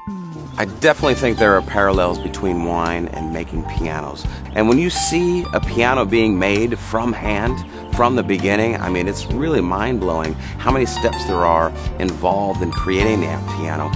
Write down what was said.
I definitely think there are parallels between wine and making pianos. And when you see a piano being made from hand, from the beginning, I mean, it's really mind-blowing how many steps there are involved in creating that piano.